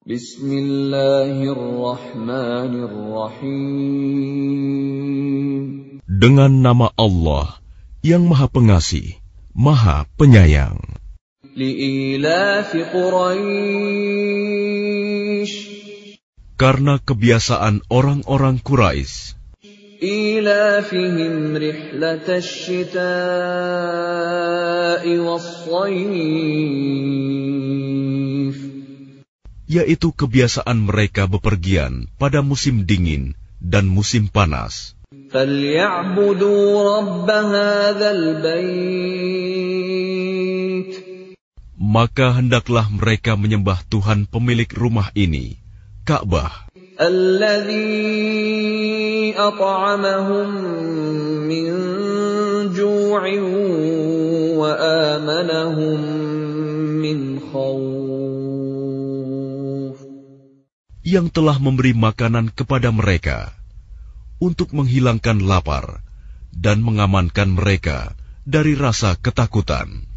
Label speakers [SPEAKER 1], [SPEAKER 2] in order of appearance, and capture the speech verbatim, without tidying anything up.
[SPEAKER 1] Bismillahirrahmanirrahim.
[SPEAKER 2] Dengan nama Allah yang Maha Pengasih, Maha Penyayang.
[SPEAKER 1] Li'ilafi Quraisy.
[SPEAKER 2] Karena kebiasaan orang-orang Quraisy.
[SPEAKER 1] Ilafihim rihlatash shita'i was-shayf.
[SPEAKER 2] Yaitu kebiasaan mereka bepergian pada musim dingin dan musim panas.
[SPEAKER 1] فَلْيَعْبُدُوا رَبَّ هَذَا الْبَيْتِ.
[SPEAKER 2] Maka hendaklah mereka menyembah Tuhan pemilik rumah ini, Ka'bah.
[SPEAKER 1] الَّذِي أَطْعَمَهُم مِّن جُوعٍ وَآمَنَهُم مِّنْ خَوْفٍ.
[SPEAKER 2] Yang telah memberi makanan kepada mereka untuk menghilangkan lapar dan mengamankan mereka dari rasa ketakutan.